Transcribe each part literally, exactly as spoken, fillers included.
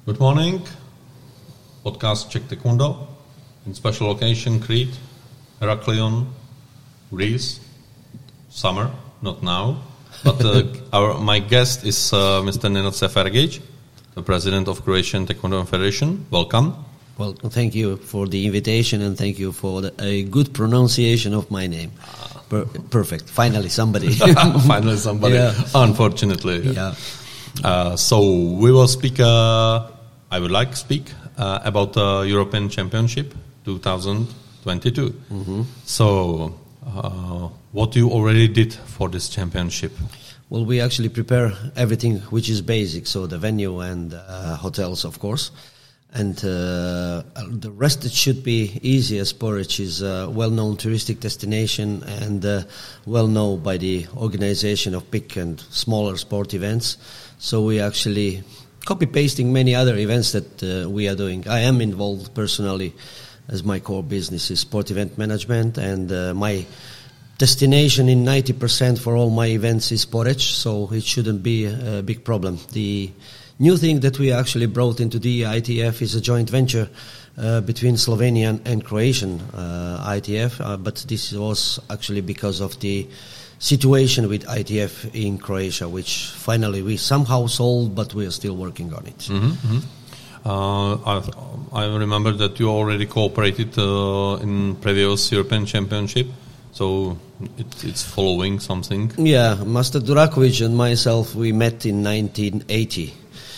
Good morning. Podcast Czech Taekwondo in special occasion Crete, Heraklion, Greece, summer, not now. But uh, our my guest is uh, Mister Nenad Sefergic, the president of Croatian Taekwondo Federation. Welcome. Well, thank you for the invitation and thank you for the, a good pronunciation of my name. Per- perfect. Finally, somebody. Finally, somebody. Yeah. Unfortunately. Yeah. Uh, so we will speak. Uh, I would like to speak uh, about the European Championship twenty twenty-two. Mm-hmm. So, uh, what you already did for this championship? Well, we actually prepare everything which is basic, so the venue and uh, hotels, of course. And uh, the rest, it should be easy, as Poreč is a well-known touristic destination and uh, well-known by the organization of big and smaller sport events. So we actually copy-pasting many other events that uh, we are doing. I am involved personally, as my core business is sport event management, and uh, my destination in ninety percent for all my events is Poreč, so it shouldn't be a big problem. The new thing that we actually brought into the I T F is a joint venture uh, between Slovenian and Croatian uh, I T F, uh, but this was actually because of the situation with I T F in Croatia, which finally we somehow solved, but we are still working on it. Mm-hmm, mm-hmm. Uh, I, I remember that you already cooperated uh, in previous European Championship, so it, it's following something. Yeah, Master Durakovic and myself, we met in nineteen eighty.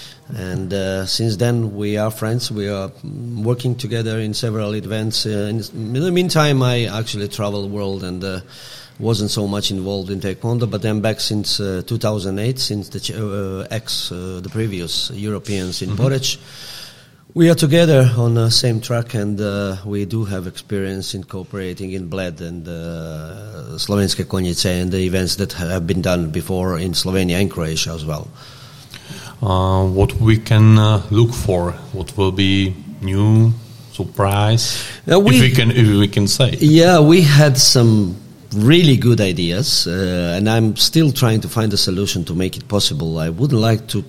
And uh, since then, we are friends. We are working together in several events. Uh, in the meantime, I actually traveled the world and uh, wasn't so much involved in Taekwondo. But I'm back since uh, two thousand eight, since the uh, ex, uh, the previous Europeans in mm-hmm. Poreč. We are together on the same track, and uh, we do have experience in cooperating in Bled and uh, Slovenske Konjice and the events that have been done before in Slovenia and Croatia as well. Uh, what we can uh, look for? What will be new surprise? Uh, we, if we can, if we can say. Yeah, we had some really good ideas, uh, and I'm still trying to find a solution to make it possible. I wouldn't like to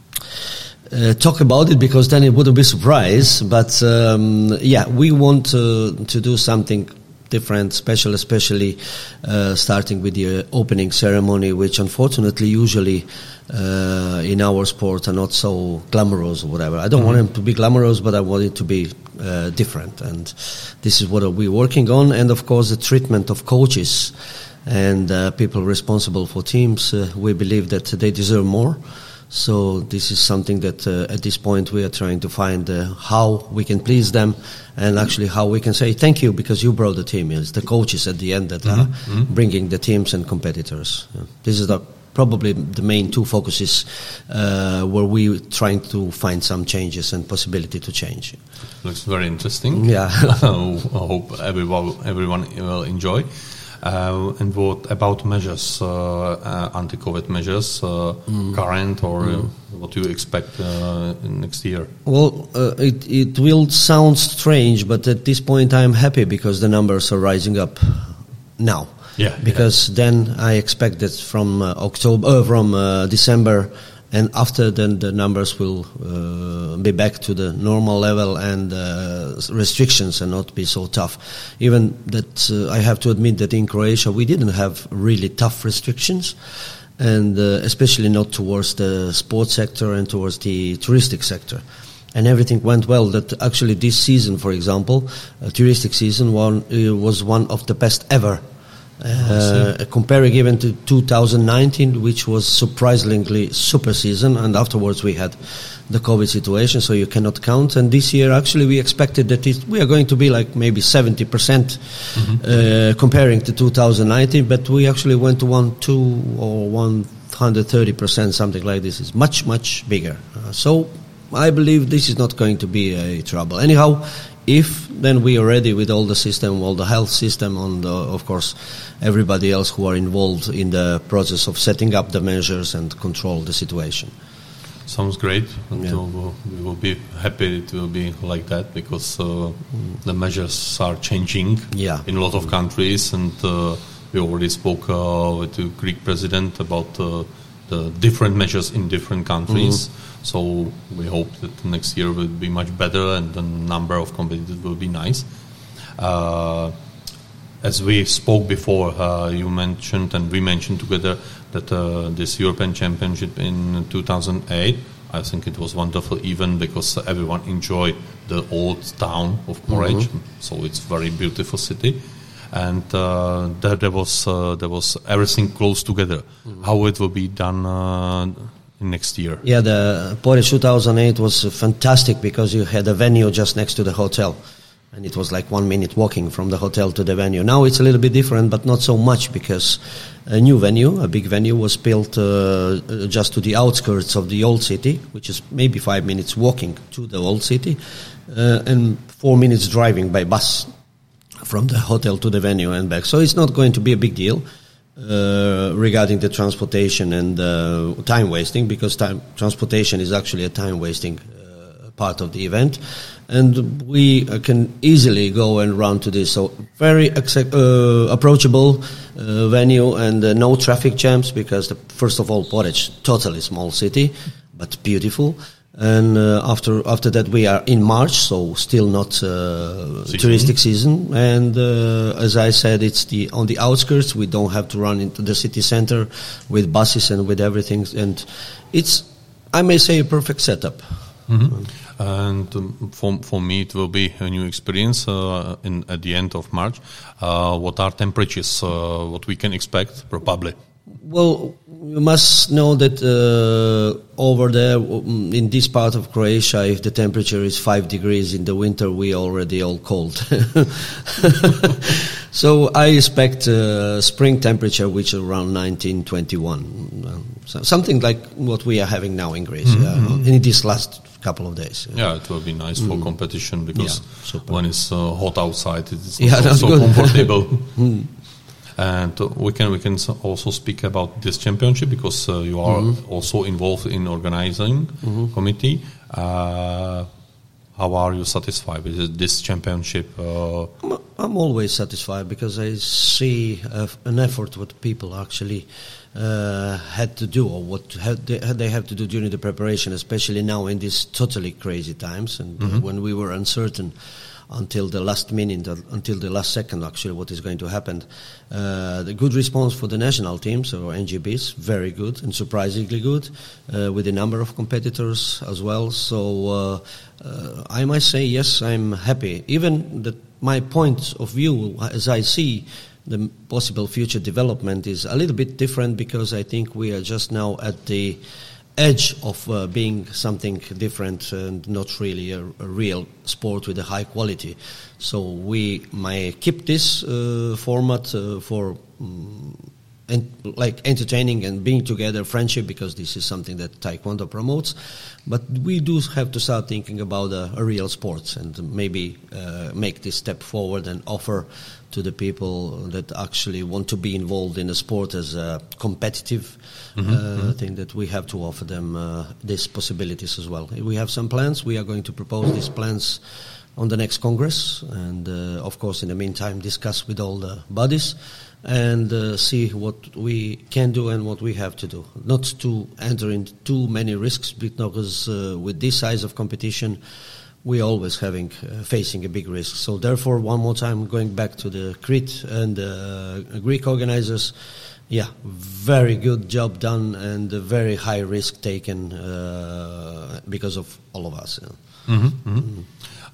uh, talk about it because then it wouldn't be a surprise. But um, yeah, we want to, to do something different, special, especially uh, starting with the uh, opening ceremony, which unfortunately usually uh, in our sport are not so glamorous or whatever. I don't mm-hmm. want them to be glamorous, but I want it to be uh, different, and this is what we're working on. And of course, the treatment of coaches and uh, people responsible for teams, uh, we believe that they deserve more. So this is something that uh, at this point we are trying to find uh, how we can please them, and actually how we can say thank you because you brought the team. It's the coaches at the end that mm-hmm. are mm-hmm. bringing the teams and competitors. Yeah. This is the, probably the main two focuses uh, where we're trying to find some changes and possibility to change. Looks very interesting. Yeah. I hope everyone, everyone will enjoy. Uh, and what about measures, uh, uh, anti-COVID measures, uh, mm. current or mm. uh, what do you expect uh, next year? Well, uh, it, it will sound strange, but at this point I'm happy because the numbers are rising up now. Yeah. Because yeah. then I expect that from uh, October, uh, from uh, December, and after then the numbers will uh, be back to the normal level, and uh, restrictions will not be so tough. Even that uh, I have to admit that in Croatia we didn't have really tough restrictions, and uh, especially not towards the sports sector and towards the touristic sector. And everything went well. That actually this season, for example, uh, touristic season one uh, was one of the best ever. Uh, comparing even to two thousand nineteen, which was surprisingly super season, and afterwards we had the COVID situation, so you cannot count. And this year, actually, we expected that it, we are going to be like maybe seventy percent mm-hmm. uh, comparing to two thousand nineteen, but we actually went to one, two, or one hundred thirty percent, something like this. It's much, much bigger. Uh, so I believe this is not going to be a trouble. Anyhow, if then we are ready with all the system, all the health system, and uh, of course everybody else who are involved in the process of setting up the measures and control the situation. Sounds great. And yeah. we'll, we will be happy it will be like that because uh, mm. the measures are changing yeah. in a lot of countries, and uh, we already spoke uh, with the Greek president about uh, the different measures in different countries. Mm-hmm. So we hope that next year will be much better and the number of competitors will be nice. Uh, as we spoke before, uh, you mentioned and we mentioned together that uh, this European Championship in two thousand eight, I think it was wonderful even because everyone enjoyed the old town of Poreč, mm-hmm. so it's a very beautiful city. And uh, there, there was uh, there was everything close together. Mm-hmm. How it will be done uh, next year? Yeah, the Poreč two thousand eight was fantastic because you had a venue just next to the hotel, and it was like one minute walking from the hotel to the venue. Now it's a little bit different, but not so much because a new venue, a big venue, was built uh, just to the outskirts of the old city, which is maybe five minutes walking to the old city, uh, and four minutes driving by bus from the hotel to the venue and back. So it's not going to be a big deal uh, regarding the transportation and uh, time wasting, because time transportation is actually a time wasting uh, part of the event, and we uh, can easily go and run to this. So very accept, uh, approachable uh, venue and uh, no traffic jams, because the, first of all, Poreč, totally small city, but beautiful. And uh, after after that we are in March, so still not uh, season. touristic season. And uh, as I said, it's the on the outskirts. We don't have to run into the city center with buses and with everything. And it's, I may say, a perfect setup. Mm-hmm. And um, for for me, it will be a new experience uh, in at the end of March. Uh, what are temperatures? Uh, what we can expect, probably? Well, you must know that uh, over there, in this part of Croatia, if the temperature is five degrees in the winter, we already all cold. So I expect uh, spring temperature, which is around nineteen, twenty-one. So something like what we are having now in Greece, mm-hmm. uh, in this last couple of days. Yeah, yeah, it will be nice for mm. competition, because yeah, when it's uh, hot outside, it's yeah, not so, so comfortable. mm. And uh, we can we can also speak about this championship, because uh, you are mm-hmm. also involved in organizing mm-hmm. committee. Uh, how are you satisfied with this championship? Uh, I'm, I'm always satisfied, because I see uh, an effort what people actually uh, had to do, or what had they, had they have to do during the preparation, especially now in these totally crazy times, and mm-hmm. uh, when we were uncertain until the last minute, until the last second, actually, what is going to happen. Uh, the good response for the national teams, or N G Bs, very good and surprisingly good, uh, with a number of competitors as well. So uh, uh, I must say, yes, I'm happy. Even that my point of view, as I see the possible future development, is a little bit different, because I think we are just now at the edge of uh, being something different and not really a, a real sport with a high quality. So we might keep this uh, format uh, for um, en- like entertaining and being together, friendship, because this is something that Taekwondo promotes. But we do have to start thinking about a, a real sport, and maybe uh, make this step forward and offer to the people that actually want to be involved in the sport as a competitive mm-hmm, uh, mm-hmm. thing, that we have to offer them uh, these possibilities as well. We have some plans. We are going to propose these plans on the next Congress, and uh, of course in the meantime discuss with all the bodies and uh, see what we can do and what we have to do. Not to enter into too many risks, because uh, with this size of competition we're always having uh, facing a big risk. So therefore, one more time, going back to the Crete and uh, Greek organizers, yeah, very good job done, and a very high risk taken uh, because of all of us. Yeah. Mm-hmm, mm-hmm. Mm-hmm.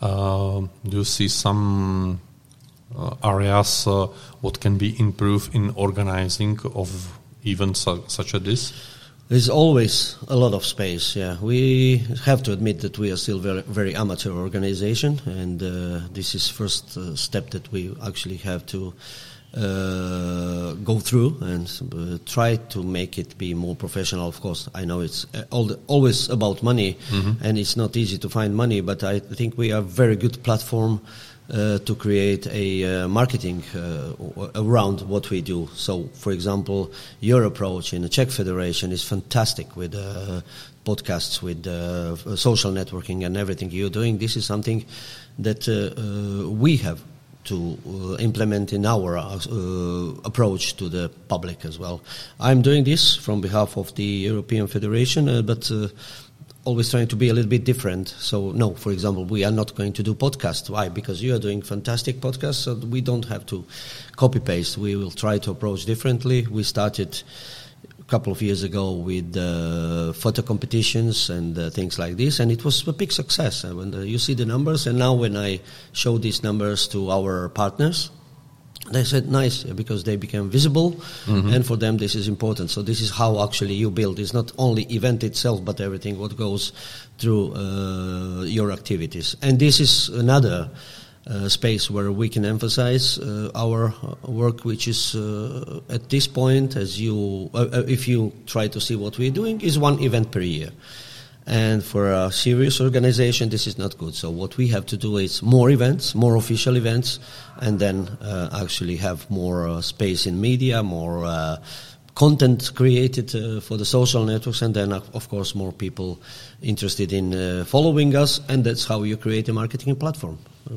Uh, do you see some uh, areas uh, what can be improved in organizing of events su- such as this? There's always a lot of space, yeah. We have to admit that we are still very, very amateur organization, and uh, this is first uh, step that we actually have to uh, go through and uh, try to make it be more professional. Of course, I know it's uh, all the, always about money, mm-hmm. and it's not easy to find money, but I think we are a very good platform Uh, to create a uh, marketing uh, around what we do. So, for example, your approach in the Czech Federation is fantastic, with uh, podcasts, with uh, social networking and everything you're doing. This is something that uh, uh, we have to uh, implement in our uh, approach to the public as well. I'm doing this from behalf of the European Federation, uh, but uh, always trying to be a little bit different. So, no, for example, we are not going to do podcasts. Why? Because you are doing fantastic podcasts, so we don't have to copy-paste. We will try to approach differently. We started a couple of years ago with uh, photo competitions and uh, things like this, and it was a big success. And when the, you see the numbers, and now when I show these numbers to our partners, they said nice, because they became visible, mm-hmm. and for them this is important. So this is how actually you build. It's not only event itself, but everything what goes through uh, your activities. And this is another uh, space where we can emphasize uh, our work, which is uh, at this point, as you, uh, if you try to see what we're doing, is one event per year. And for a serious organization, this is not good. So what we have to do is more events, more official events, and then uh, actually have more uh, space in media, more uh, content created uh, for the social networks, and then, uh, of course, more people interested in uh, following us, and that's how you create a marketing platform.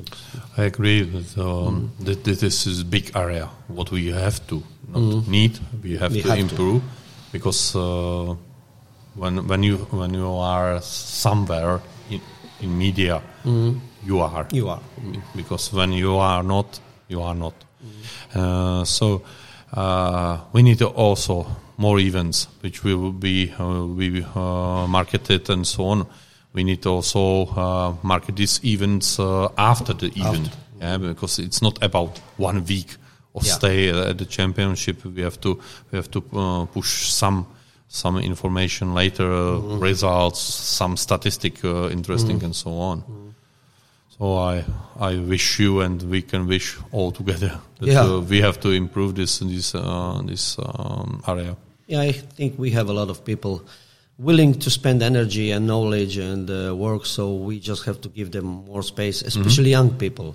I agree that, um, mm. that this is a big area. What we have to, not mm. need, we have we to have improve, to. because... Uh, When when you when you are somewhere in, in media, mm-hmm. you are you are because when you are not, you are not. Mm-hmm. Uh, so uh, we need also more events which will be uh, be uh, marketed and so on. We need also uh, market these events uh, after the event, after. Yeah, because it's not about one week of yeah. stay at the championship. We have to we have to uh, push some. Some information later, uh, mm-hmm. results, some statistic uh, interesting, mm-hmm. and so on. Mm-hmm. So I I wish you and we can wish all together that yeah. uh, we have to improve this this uh, this um, area. Yeah, I think we have a lot of people willing to spend energy and knowledge and uh, work. So we just have to give them more space, especially mm-hmm. young people.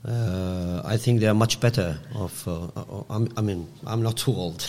Uh, I think they are much better off. Uh, uh, I mean, I'm not too old,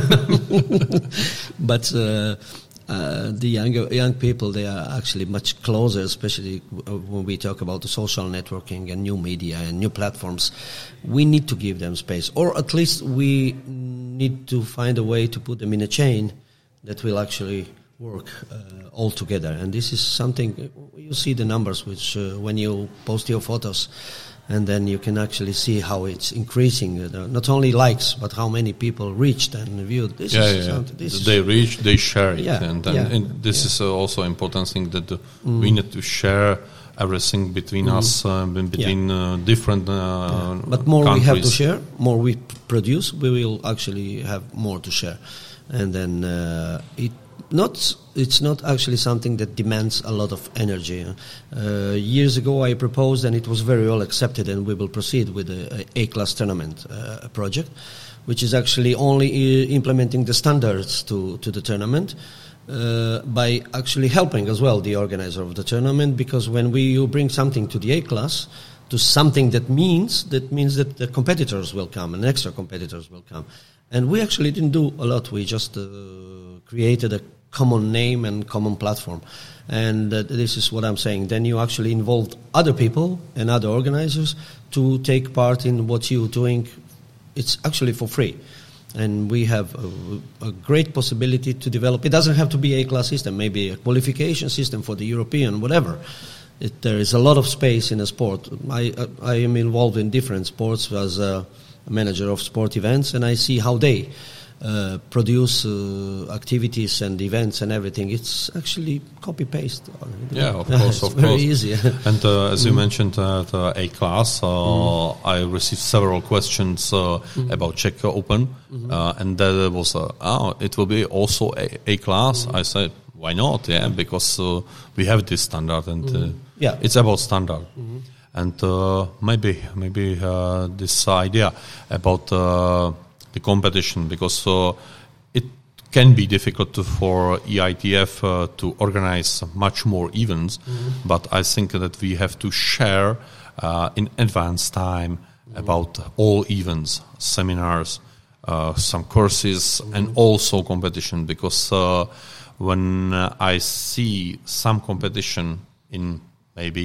but uh, uh, the younger young people, they are actually much closer, especially when we talk about the social networking and new media and new platforms. We need to give them space, or at least we need to find a way to put them in a chain that will actually work uh, all together. And this is something, you see the numbers, which uh, when you post your photos, and then you can actually see how it's increasing. Uh, not only likes, but how many people reached and viewed. This yeah, is yeah. This they reach, they share it, yeah, and, and, yeah, and this yeah. is uh, also important thing that uh, mm. we need to share everything between mm. us, uh, between yeah. uh, different. Uh, yeah. But more countries. we have to share, more we p- produce, we will actually have more to share, and then uh, it. Not, it's not actually something that demands a lot of energy. Uh, years ago I proposed, and it was very well accepted, and we will proceed with the A-class tournament uh, project, which is actually only uh, implementing the standards to, to the tournament uh, by actually helping as well the organizer of the tournament, because when we you bring something to the A-class, to something that means, that means that the competitors will come, and extra competitors will come. And we actually didn't do a lot. We just uh, created a common name and common platform. And uh, this is what I'm saying. Then you actually involved other people and other organizers to take part in what you're doing. It's actually for free. And we have a, a great possibility to develop. It doesn't have to be a class system, maybe a qualification system for the European, whatever. It, there is a lot of space in a sport. I, I, I am involved in different sports as a manager of sport events, and I see how they uh, produce uh, activities and events and everything. It's actually copy-paste. Yeah, of course, it's of very course. easy. And uh, as mm. you mentioned, uh, the A-class, uh, mm. I received several questions uh, mm. about Czech Open, mm-hmm. uh, and there was, uh, oh, it will be also A- A-class. Mm. I said, why not? Yeah, because uh, we have this standard, and uh, mm. yeah. it's about standard. Mm-hmm. And uh, maybe maybe uh, this idea about uh, the competition, because uh, it can be difficult to, for E I T F uh, to organize much more events, mm-hmm. but I think that we have to share uh, in advance time mm-hmm. about all events, seminars, uh, some courses, mm-hmm. and also competition, because uh, when uh, I see some competition in maybe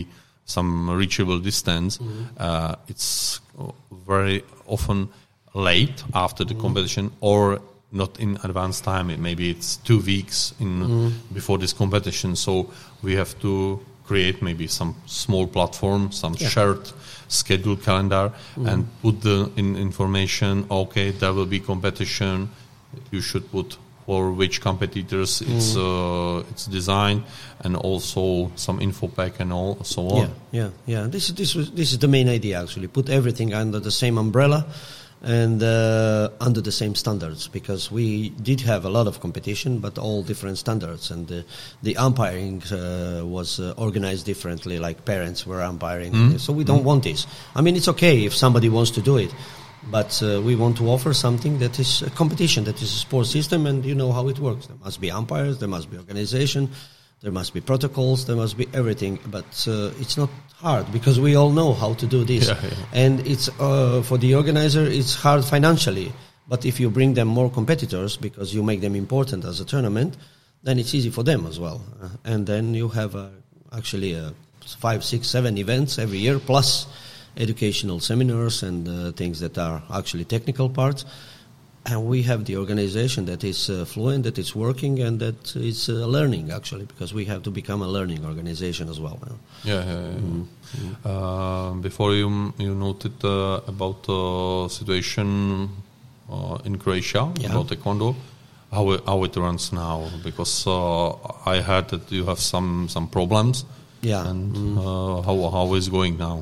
some reachable distance, mm-hmm. uh, it's very often late after the mm-hmm. competition or not in advance time. It, maybe it's two weeks in mm-hmm. before this competition. So we have to create maybe some small platform, some yeah. shared schedule calendar, mm-hmm. and put the in information. Okay, there will be competition. You should put for which competitors mm. it's uh, it's designed, and also some info pack and all so on. Yeah, yeah, yeah. This is this was this is the main idea actually. Put everything under the same umbrella and uh, under the same standards, because we did have a lot of competition, but all different standards, and the, the umpiring uh, was uh, organized differently. Like parents were umpiring, mm. so we don't mm. want this. I mean, it's okay if somebody wants to do it. But uh, we want to offer something that is a competition, that is a sports system, and you know how it works. There must be umpires, there must be organization, there must be protocols, there must be everything. But uh, it's not hard, because we all know how to do this. Yeah, yeah. And it's uh, for the organizer, it's hard financially. But if you bring them more competitors, because you make them important as a tournament, then it's easy for them as well. Uh, and then you have uh, actually uh, five, six, seven events every year, plus educational seminars and uh, things that are actually technical parts. And we have the organization that is uh, fluent, that is working, and that is uh, learning, actually, because we have to become a learning organization as well. Yeah, yeah, yeah. Mm-hmm. Uh, before you you noted uh, about the uh, situation uh, in Croatia, yeah. about Taekwondo, how it, how it runs now, because uh, I heard that you have some, some problems. Yeah. And mm-hmm. uh, how how is it going now?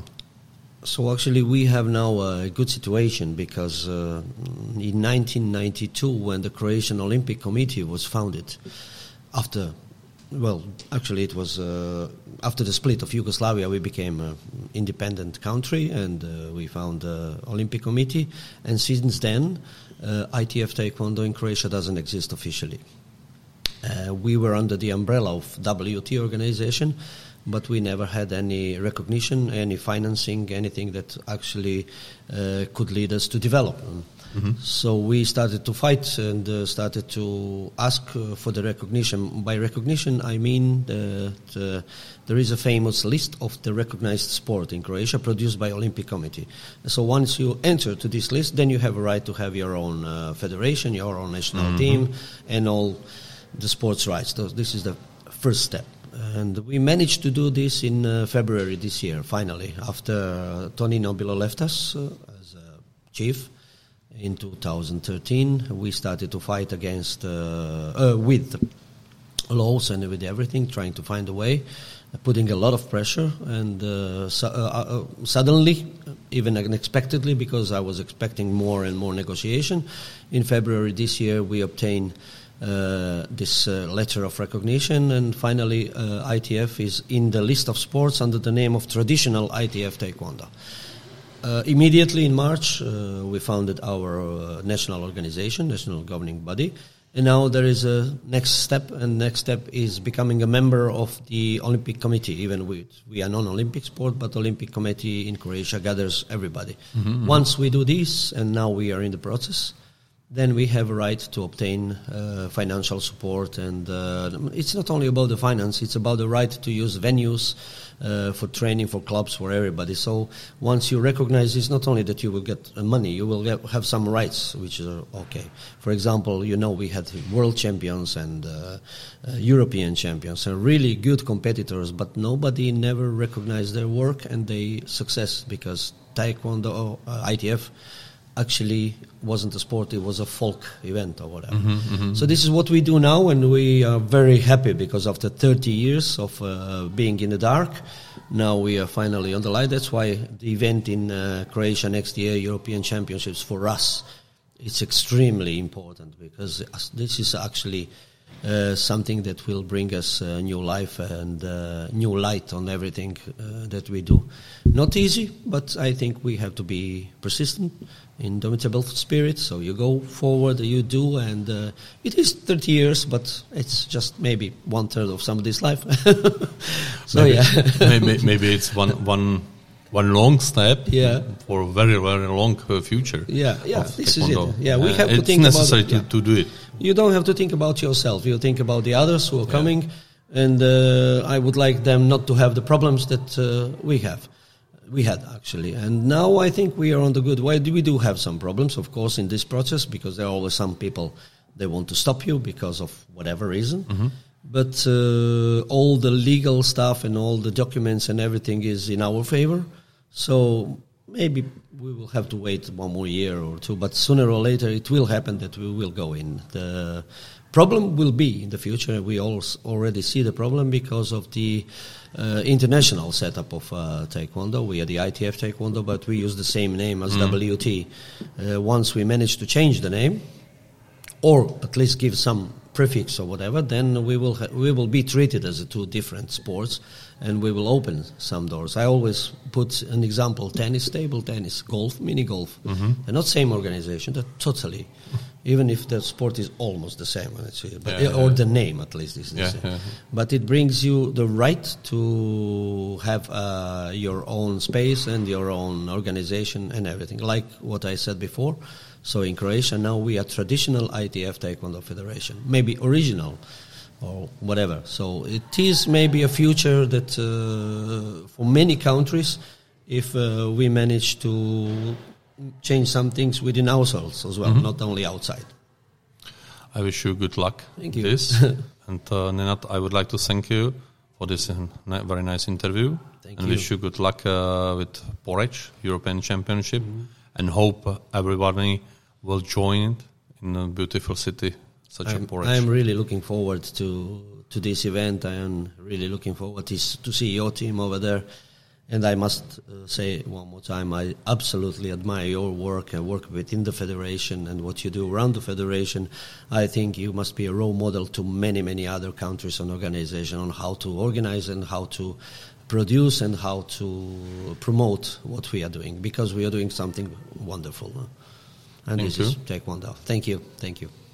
So actually we have now a good situation, because uh, in nineteen ninety-two, when the Croatian Olympic Committee was founded, after, well, actually it was uh, after the split of Yugoslavia, we became an independent country, and uh, we found the Olympic Committee, and since then uh, I T F Taekwondo in Croatia doesn't exist officially. Uh, we were under the umbrella of W T organization, but we never had any recognition, any financing, anything that actually uh, could lead us to develop. Mm-hmm. So we started to fight and uh, started to ask uh, for the recognition. By recognition, I mean that uh, there is a famous list of the recognized sport in Croatia produced by Olympic Committee. So once you enter to this list, then you have a right to have your own uh, federation, your own national mm-hmm. team, and all the sports rights. So this is the first step. And we managed to do this in uh, February this year, finally, after uh, Tony Nobilo left us uh, as a chief in two thousand thirteen. We started to fight against, uh, uh, with laws and with everything, trying to find a way, uh, putting a lot of pressure, and uh, su- uh, uh, suddenly, even unexpectedly, because I was expecting more and more negotiation, in February this year we obtained Uh, this uh, letter of recognition, and finally uh, I T F is in the list of sports under the name of traditional I T F Taekwondo. Uh, immediately in March uh, we founded our uh, national organization, national governing body, and now there is a next step, and next step is becoming a member of the Olympic Committee. Even with, we are non-Olympic sport, but Olympic Committee in Croatia gathers everybody. Mm-hmm. Once we do this, and now we are in the process, then we have a right to obtain uh, financial support. And uh, it's not only about the finance, it's about the right to use venues uh, for training, for clubs, for everybody. So once you recognize, it's not only that you will get money, you will get, have some rights, which are okay. For example, you know, we had world champions and uh, uh, European champions, and really good competitors, but nobody never recognized their work and their success, because Taekwondo, uh, I T F, actually wasn't a sport, it was a folk event or whatever. Mm-hmm, mm-hmm. So this is what we do now, and we are very happy, because after thirty years of uh, being in the dark, now we are finally on the light. That's why the event in uh, Croatia next year, European Championships, for us, it's extremely important, because this is actually uh, something that will bring us uh, new life and uh, new light on everything uh, that we do. Not easy, but I think we have to be persistent, indomitable spirit. So you go forward, you do, and uh, it is thirty years, but it's just maybe one third of somebody's life. so maybe, yeah, maybe maybe it's one one one long step, yeah, for a very very long uh, future. Yeah, yeah, this Taekwondo. is it. Yeah, we have uh, to think it's necessary about to, yeah. to do it. You don't have to think about yourself. You think about the others who are yeah. coming. and uh, I would like them not to have the problems that uh, we have. We had, actually. And now I think we are on the good way. We do have some problems, of course, in this process, because there are always some people, they want to stop you because of whatever reason. Mm-hmm. But uh, all the legal stuff and all the documents and everything is in our favor. So maybe we will have to wait one more year or two. But sooner or later it will happen that we will go in. The problem will be in the future. We all already see the problem because of the uh, international setup of uh, Taekwondo. We are the I T F Taekwondo, but we use the same name as mm. W T. Uh, once we manage to change the name, or at least give some prefix or whatever, then we will ha- we will be treated as a two different sports, and we will open some doors. I always put an example: tennis, table tennis, golf, mini golf. Mm-hmm. They're not same organization. They're totally, even if the sport is almost the same, actually, but yeah, or yeah. the name at least is the yeah, same. yeah. But it brings you the right to have uh, your own space and your own organization and everything, like what I said before. So in Croatia now we are traditional I T F Taekwondo Federation, maybe original or whatever. So it is maybe a future that uh, for many countries, if uh, we manage to change some things within ourselves as well, mm-hmm. not only outside. I wish you good luck thank with you. this. And uh, Nenad, I would like to thank you for this uh, very nice interview. Thank and you. wish you good luck uh, with Porridge, European Championship, mm-hmm. and hope uh, everybody will join it in a beautiful city such I'm, as Porridge. I'm really looking forward to to this event. I am really looking forward to, to see your team over there. And I must uh, say one more time, I absolutely admire your work and work within the federation and what you do around the federation. I think you must be a role model to many, many other countries and organizations on how to organize and how to produce and how to promote what we are doing, because we are doing something wonderful. And Thank this you. is Taekwondo. Thank you. Thank you.